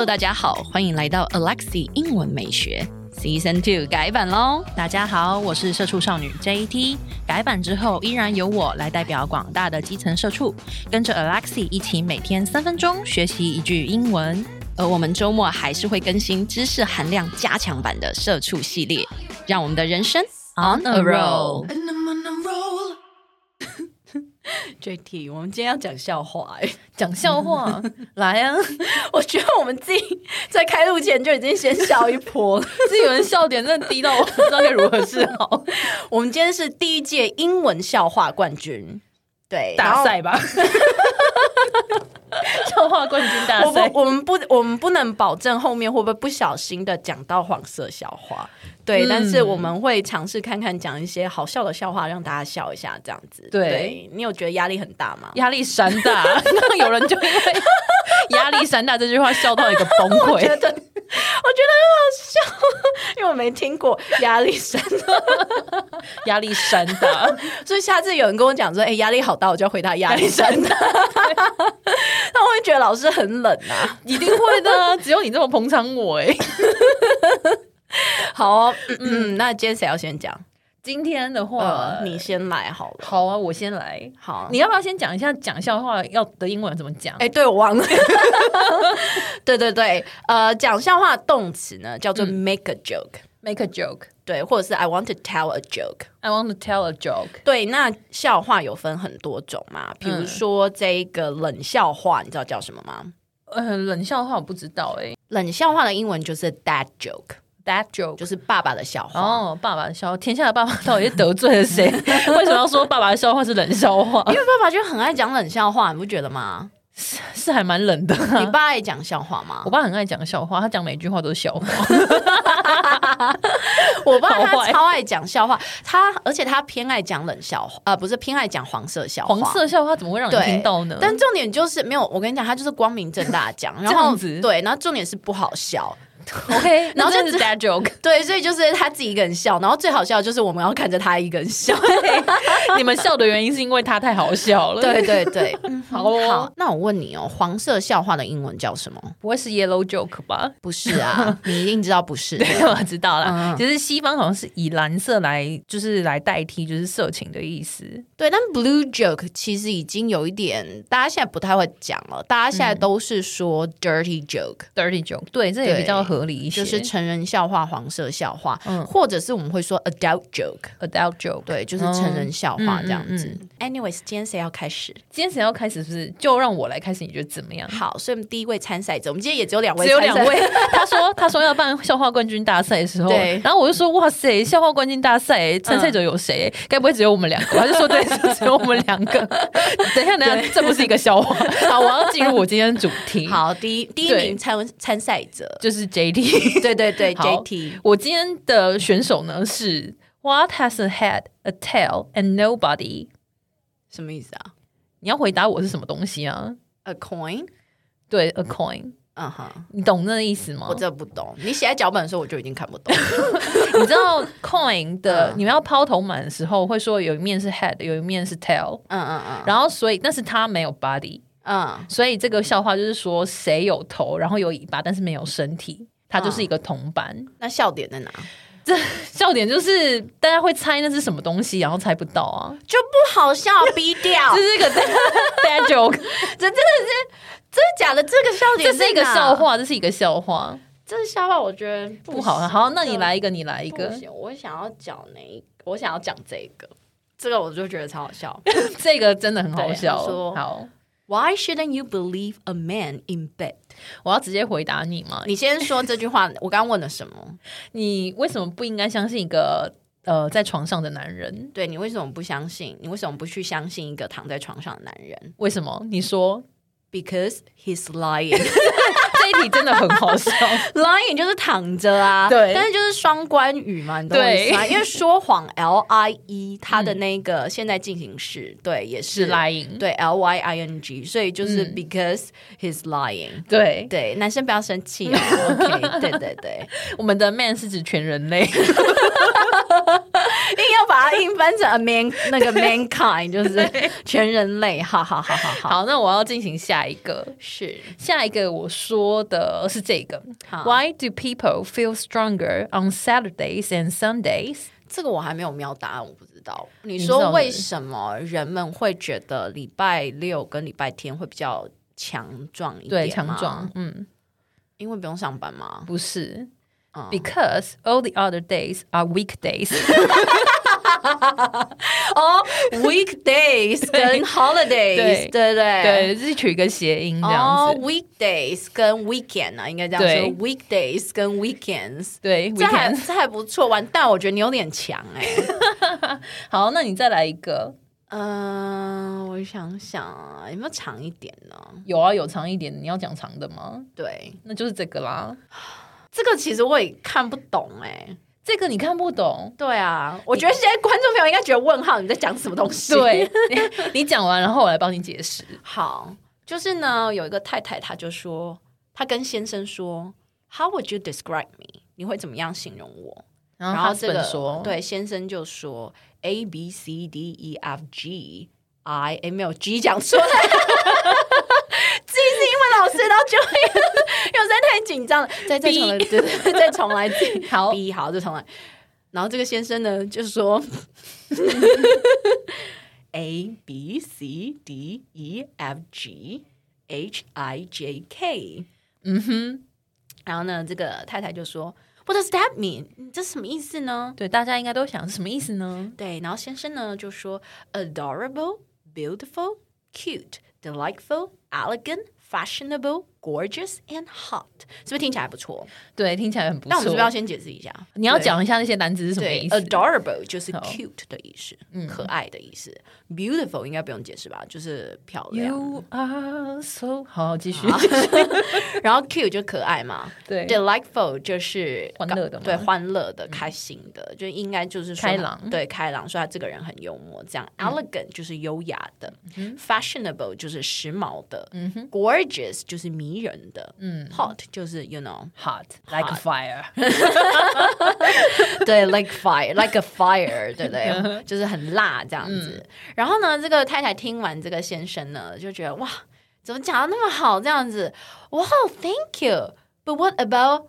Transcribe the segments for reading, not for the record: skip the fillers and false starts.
大家好，歡迎來到 Alexi 英文美學 Season 2改版咯。 大家好，我是社畜少女 JT。改版之後，依然由我來代表廣大的基層社畜，跟着 Alexi 一起每天3分鐘學習一句英文。 而我們週末還是會更新知識含量加強版的社畜系列，讓我們的人生 on a roll。JT， 我們今天要講笑話講笑話來啊！ 我覺得我們自己在開錄前就已經先笑一波了， 是有人笑點真的低到我不知道該如何是好。 我們今天是第1屆英文笑話冠軍，對， 大賽吧。笑話冠軍大賽， 我們不能保證後面會不會不小心的講到黃色笑話，對，但是我們會嘗試看看講一些好笑的笑話，讓大家笑一下，這樣子。对，你有覺得壓力很大嗎？ 壓力山大，有人就因為壓力山大這句話笑到一個崩潰。我覺得很好笑，因為我沒聽過壓力山大， 壓力山大， 所以下次有人跟我講說，壓力好大，我就要回答壓力山大。那我會覺得老師很冷啊， 一定會的，只有你這麼捧場我好那今天誰要先講？ 今天的話， 你先來好了。 好啊，我先來。 好， 你要不要先講一下講笑話要的英文怎麼講？ 對，我忘了。对，講笑話的動詞呢叫做 make a joke。make a joke， 對，或者是 I want to tell a joke。I want to tell a joke。 对，那笑話有分很多種嘛，比如說這個冷笑話，你知道叫什麼嗎？ 冷笑話我不知道冷笑話的英文就是 dad joke。Dad joke 就是爸爸的笑話。 爸爸的笑話，天下的爸爸到底是得罪了誰？為什麼要說爸爸的笑話是冷笑話？ 因為爸爸就很愛講冷笑話，你不覺得嗎？ 是還蠻冷的。 你爸愛講笑話嗎？ 我爸很愛講笑話，他講每句話都是笑話。 我爸他超愛講笑話，而且他偏愛講冷笑話，不是偏愛講黃色笑话。 黃色笑話怎麼會讓你聽到呢？ 但重點就是沒有，我跟你講，他就是光明正大講，然後對，然後重點是不好笑。 OK， 然後就是 dad joke， 对，所以就是他自己一個人笑，然後最好笑的就是我們要看着他一個人笑。 你們笑的原因是因為他太好笑了。 對，好，那我問你黃色笑話的英文叫什麼？ 不會是 yellow joke 吧？ 不是啊，你一定知道不是。 對，我知道了。其實西方好像是以藍色來代替，就是色情的意思。 對，但 blue joke 其實已經有一點，大家現在不太會講了，大家現在都是說 dirty joke。dirty joke， 對，這也比較合理一些，就是成人笑話、黃色笑話，或者是我們會說 adult joke，對，就是成人笑話這樣子。Anyways， 今天誰要開始？今天誰要開始？是不是就讓我來開始？你覺得怎麼樣？好，所以我們第一位參賽者，我們今天也只有2位， 只有2位。他說要辦笑話冠軍大賽的時候，對，然後我就說哇塞，笑話冠軍大賽參賽者有誰？該不會只有我們2個？他就說對，只有我們2個。等一下，這不是一個笑話。好，我要進入我今天的主題。好，第一名參賽者就是 JT。對，JT。我今天的選手呢是 What has a head, a tail, and nobody？ 什麼意思啊？ 你要回答我是什麼東西啊 ？A coin？ 對 ，a coin。你懂那個意思嗎？ 我真的不懂。你寫在腳本的時候，我就已經看不懂。 你知道 coin 的，你們要拋頭滿的時候，會說有一面是 head， 有一面是 tail。然後所以，但是它沒有 body。所以這個笑話就是說，誰有頭，然後有尾巴，但是沒有身體，它就是一個銅板。那笑點在哪？這笑點就是大家會猜那是什麼東西，然後猜不到啊，就不好笑，逼掉。這是一個 dad joke， 這真的假的？這個笑點，這是一個笑話，這是一個笑話。這個笑話我覺得不好。好，那你來一個，我想要講我想要講這個我就覺得超好笑。這個真的很好笑。好。Why shouldn't you believe a man in bed？ 我要直接回答你嗎？你先說這句話。我剛剛問了什麼？你為什麼不應該相信一個在床上的男人？對，你為什麼不相信？你為什麼不去相信一個躺在床上的男人？為什麼？你說 ，Because he's lying。這一題真的很好笑。lying 就是躺着啊，对，但是就是雙關語嘛，你懂我意思嗎？因為說謊 lie 它的那個現在進行式，對，也是 lying， 對 lying， 所以就是 because he's lying。对，男生不要生氣哦。OK， 对，我們的 man 是指全人類。硬要把把它硬翻成 mankind， 就是全人類。好， 好，那我要進行下一個，下一個我說的是這個 Why do people feel stronger on Saturdays and Sundays？ 這個我還沒有瞄答案，我不知道。你說為什麼人們會覺得禮拜六跟禮拜天會比較強壯一點嗎？ 對，強壯， 因為不用上班嗎？ 不是。Because all the other days are weekdays weekdays 跟 holidays 对， 是取一個諧音這樣子 weekdays 跟 weekend 啊，應該這樣說 weekdays 跟 weekends 對， 這還不錯，完蛋，我覺得你有點強好，那你再來一個我想想啊，有沒有長一點呢？ 有啊，有長一點，你要講長的嗎？ 對， 那就是這個啦。 這個其實我也看不懂這個你看不懂？ 對啊，我覺得現在觀眾朋友應該覺得問號，你在講什麼東西？ 對，你講完然後我來幫你解釋。 好，就是呢，有一個太太，她就說，她跟先生說 How would you describe me？ 你會怎麼樣形容我？然後這個說，对，先生就說 A B C D E F G I， 沒有 G 講出來G 是英文老師，然後就會有時候太緊張了，再重來，對，再重來自己。好 B 好，就重來。然後這個先生呢就說A B C D E F G H I J K， 然後呢，這個太太就說 What does that mean？ 這是什麼意思呢？ 對，大家應該都想是什麼意思呢？ 對，然後先生呢就說 Adorable, beautiful, cute, delightful, elegant, fashionable, gorgeous, and hot， 是不是聽起來還不錯？ 對，聽起來很不錯。 那我們是不是要先解釋一下？ 你要講一下那些單詞是什麼意思？ Adorable 就是 cute 的意思，可愛的意思。Beautiful 應該不用解釋吧？就是漂亮。 You are so 好，繼續。 然後 cute 就可愛嘛。對。Delightful 就是歡樂的嘛， 對，歡樂的、開心的，就應該就是說開朗。 對，開朗，說他這個人很幽默。這樣 elegant 就是優雅的，fashionable 就是時髦的，gorgeous 就是迷人的，hot 就是 you know hot like a fire， 對 like fire like a fire， 对不對？就是很辣這樣子。然後呢，這個太太聽完這個先生呢，就覺得哇，怎麼講得那麼好這樣子？哇 ，Thank you，but what about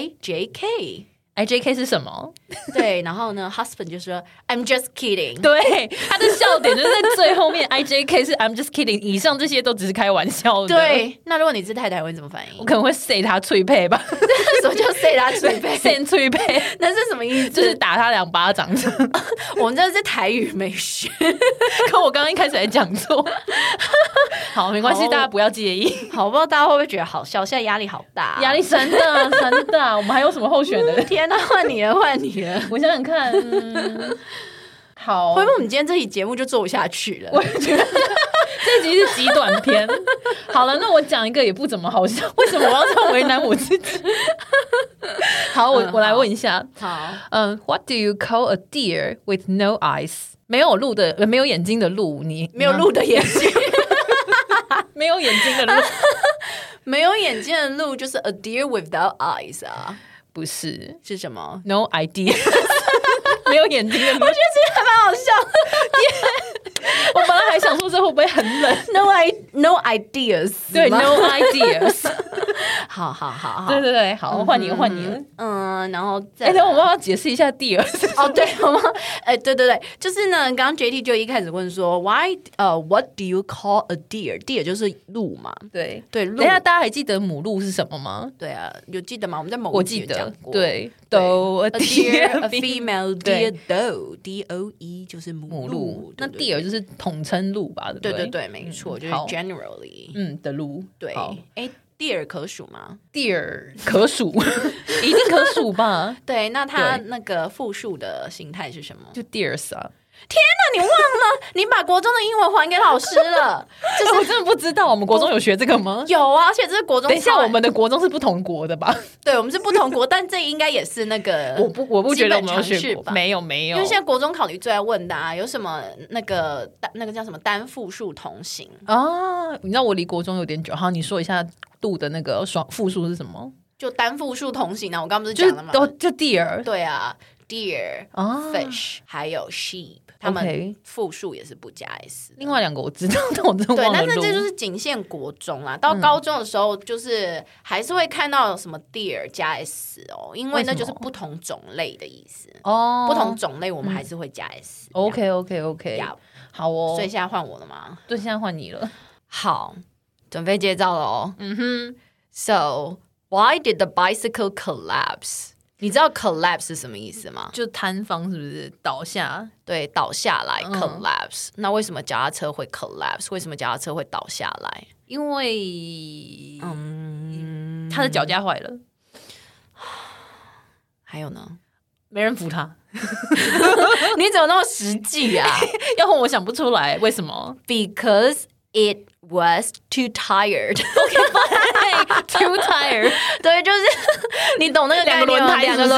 IJK？ IJK 是什麼？ 对，然後呢 ，husband 就說 I'm just kidding。 對，他的笑點就是在最後面，IJK 是 I'm just kidding， 以上這些都只是開玩笑的。 對，那如果你是太太，會怎麼反應？ 我可能會塞他脆配吧。 什麼叫塞他脆配？塞脆配， 那是什麼意思？ 就是打他2巴掌。 我們這是台語沒學， 可我剛剛一開始還講錯。好，沒關係，大家不要介意。 好，不知道大家會不會覺得好笑？現在壓力好大， 壓力山大山大。我們還有什麼候選的？ 天哪，換你了，換你了。 我想想看，好， 会不会我們今天這期節目就做不下去了？ 我覺得這集是極短篇。好了，那我講一個也不怎麼好笑，為什麼我要這樣為難我自己？好，我來問一下。 好 ，What do you call a deer with no eyes？ 沒有鹿的，沒有眼睛的鹿，你沒有鹿的眼睛， 沒有眼睛的鹿， 沒有眼睛的鹿就是 a deer without eyes 啊。 不是， 是什麼 ？No idea， 沒有眼睛的鹿。我覺得其實還蠻好笑的。我本来還想說這會不會很冷 ？No ideas， 對 ，No ideas。 好， 對，好，換你了。 然後再等我们要解釋一下 deer。 哦，對，我們對，就是呢，剛剛 JT 就一開始問說 ，What do you call a deer？ deer 就是鹿嘛， 對， 鹿。 等一下，大家還記得母鹿是什麼嗎？ 對啊，有記得嗎？我們在某一集有講過， 對 ，doe a deer，a female deer doe，D-O-E 就是母鹿。 那 deer 就是統稱鹿吧？ 對，沒錯，就是 generally 的鹿。對， deer 可數嗎 ？deer 可數，一定可數吧？ 對，那它那個複數的形態是什麼？ 就 deers 啊！ 天哪，你忘了？你把國中的英文還給老師了？ 就是我真的不知道，我們國中有學這個嗎？ 有啊，而且這是國中。 等一下，我們的國中是不同國的吧？對， 我們是不同國，但這應該也是那個我不覺得我們有學過，沒有，因為現在國中考題最愛問的啊，有什麼那個叫什麼單複數同形啊？你知道我離國中有點久，好，你說一下度的那個雙複數是什麼？ 就單複數同形啊，我剛不是講了嗎？ 就 deer， 對啊 deer、fish 還有 sheep， 他們複數也是不加 s。 另外2個我知道，但我真的忘了錄。 對，但是這就是僅限國中啦。到高中的時候，就是還是會看到什麼 deer 加 s 哦，因為那就是不同種類的意思哦。不同種類我們還是會加 s。 OK， 好哦。 所以現在換我了嗎？ 對，現在換你了。 好，準備接招了哦。So why did the bicycle collapse？ 你知道 collapse 是什麼意思嗎？ 就坍方，是不是倒下？ 對，倒下來 collapse。那為什麼腳踏車會 collapse？ 為什麼腳踏車會倒下來？ 因為他的腳架壞了。 還有呢？ 沒人扶他。 你怎麼那麼實際啊？ 要不我想不出來為什麼。 Because it was too tired. Too tired. 对，就是你懂那個概念嗎？兩個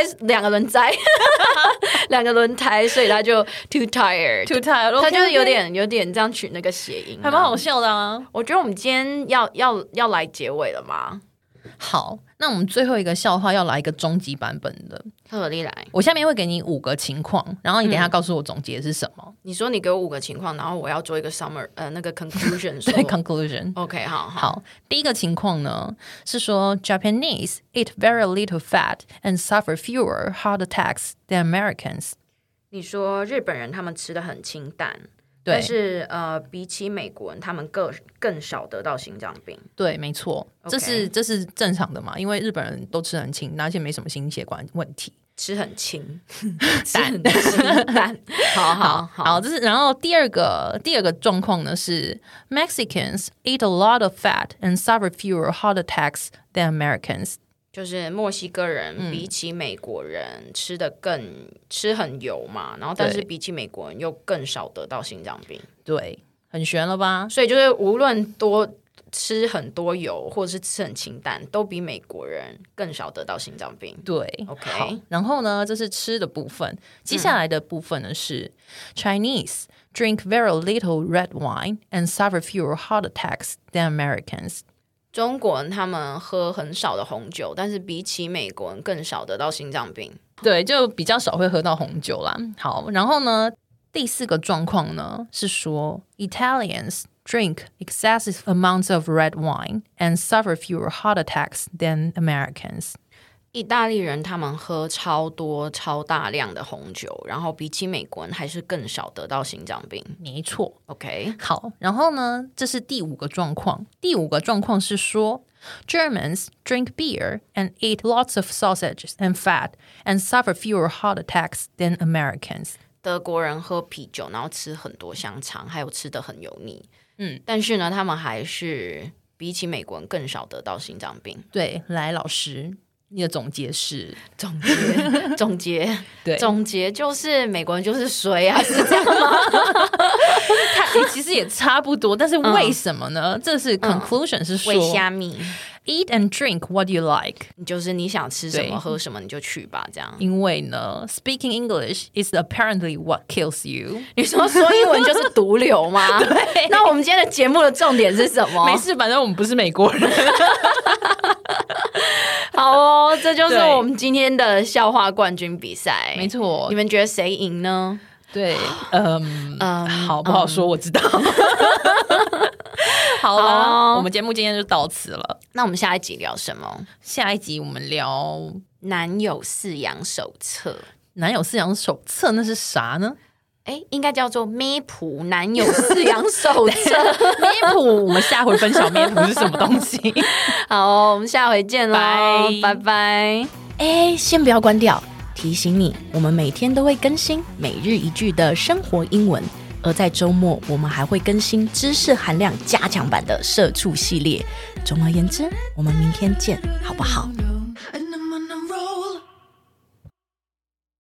輪胎，所以他就 too tired. 他就是有點這樣取那個諧音， 還蠻好笑的啊。 我覺得我們今天要來結尾了嗎？ 好，那我們最後一個笑話要來一個終極版本的。 特例來， 我下面會給你5個情況，然後你等一下告訴我總結是什麼。 你說你給我5個情況，然後我要做一個 summary， 那個 conclusion。對 ，conclusion。OK， 好。 第一個情況呢是說 Japanese eat very little fat and suffer fewer heart attacks than Americans。 你說日本人他們吃的很清淡。但是比起美國人，他們更少得到心臟病。 對，沒錯，這是正常的嘛，因為日本人都吃很清，而且沒什麼心血管問題， 吃很清， 淡。好，這是。然後第二個狀況呢是 Mexicans eat a lot of fat and suffer fewer heart attacks than Americans。 就是墨西哥人比起美國人吃很油嘛，然後但是比起美國人又更少得到心臟病。 对，很玄了吧？ 所以就是無論吃很多油或者是吃很清淡，都比美國人更少得到心臟病。 對 ，OK。 好，然後呢，這是吃的部分。接下來的部分呢是 Chinese drink very little red wine and suffer fewer heart attacks than Americans。 中國人他們喝很少的紅酒，但是比起美國人更少得到心臟病。 對，就比較少會喝到紅酒啦。好，然後呢，第4個狀況呢是說 Italians drink excessive amounts of red wine and suffer fewer heart attacks than Americans。 意大利人他們喝超大量的紅酒，然後比起美國人還是更少得到心臟病。 沒錯 ，OK。 好，然後呢，這是第5個狀況。第5個狀況是說 Germans drink beer and eat lots of sausages and fat and suffer fewer heart attacks than Americans。 德國人喝啤酒，然後吃很多香腸，還有吃得很油膩。但是呢，他們還是比起美國人更少得到心臟病。 對，來老師。你的總結是總結對，總結就是美國人就是衰啊，是這樣嗎？ 其實也差不多，但是為什麼呢？這是 conclusion 是說， 為蝦米 eat and drink what you like， 就是你想吃什麼喝什麼你就去吧，這樣。 因為呢 ，speaking English is apparently what kills you。 你說英文就是毒瘤嗎？對。那我們今天的節目的重點是什麼？ 沒事，反正我們不是美國人。 好哦，這就是我們今天的笑話冠軍比賽。 沒錯， 你們覺得誰贏呢？ 對，好不好說？我知道。好了，我們節目今天就到此了。 那我們下一集聊什麼？ 下一集我們聊男友飼養手冊。 男友飼養手冊那是啥呢？ 應該叫做咩普男友飼養手冊。 咩普，我們下回分享咩普是什麼東西。 好，我們下回見嘍，拜拜。先不要關掉，提醒你，我們每天都會更新每日一句的生活英文，而在週末我們還會更新知識含量加強版的社畜系列。總而言之，我們明天見，好不好？